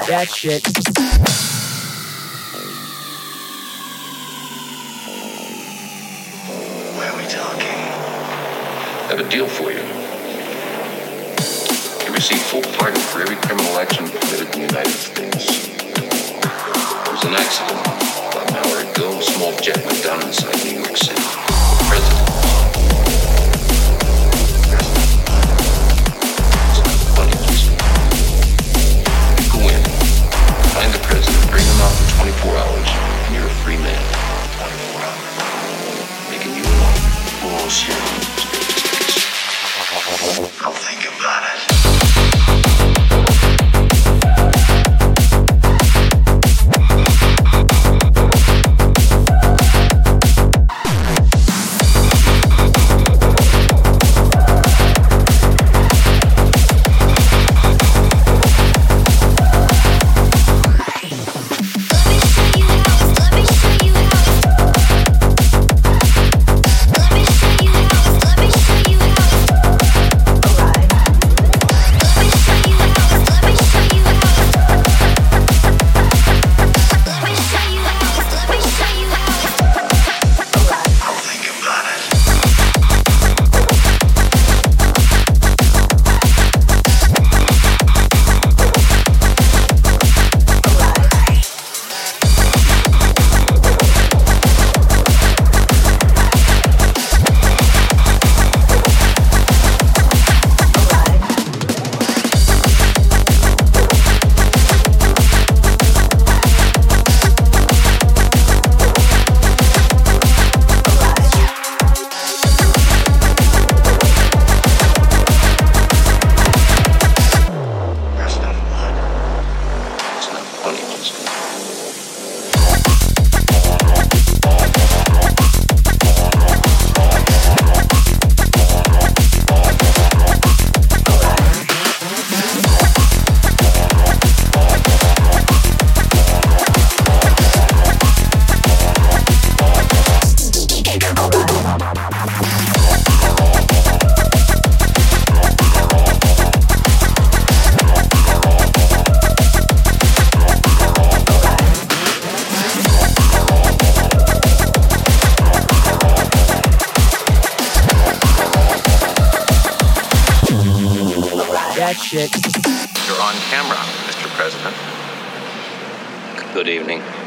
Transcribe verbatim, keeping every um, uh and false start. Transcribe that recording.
that shit. Why are we talking? I have a deal for you. You receive full pardon for every criminal action committed in the United States. There was an accident about an hour ago. A small jet went down inside New York City. The president. Find the president, bring him out for twenty-four hours, and you're a free man. twenty-four hours. Making you alone. Bullshit. I'll think about it. That shit. You're on camera, Mister President. Good evening.